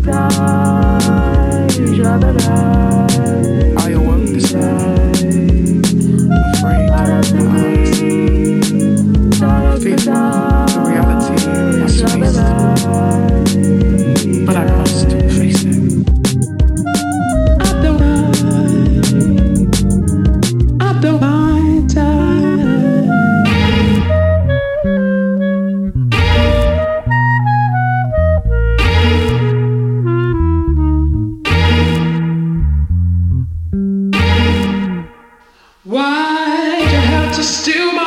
I awoke this night, afraid to open my eyes, feeling the reality of my space, but I must face it. I don't mind time. Why'd you have to steal my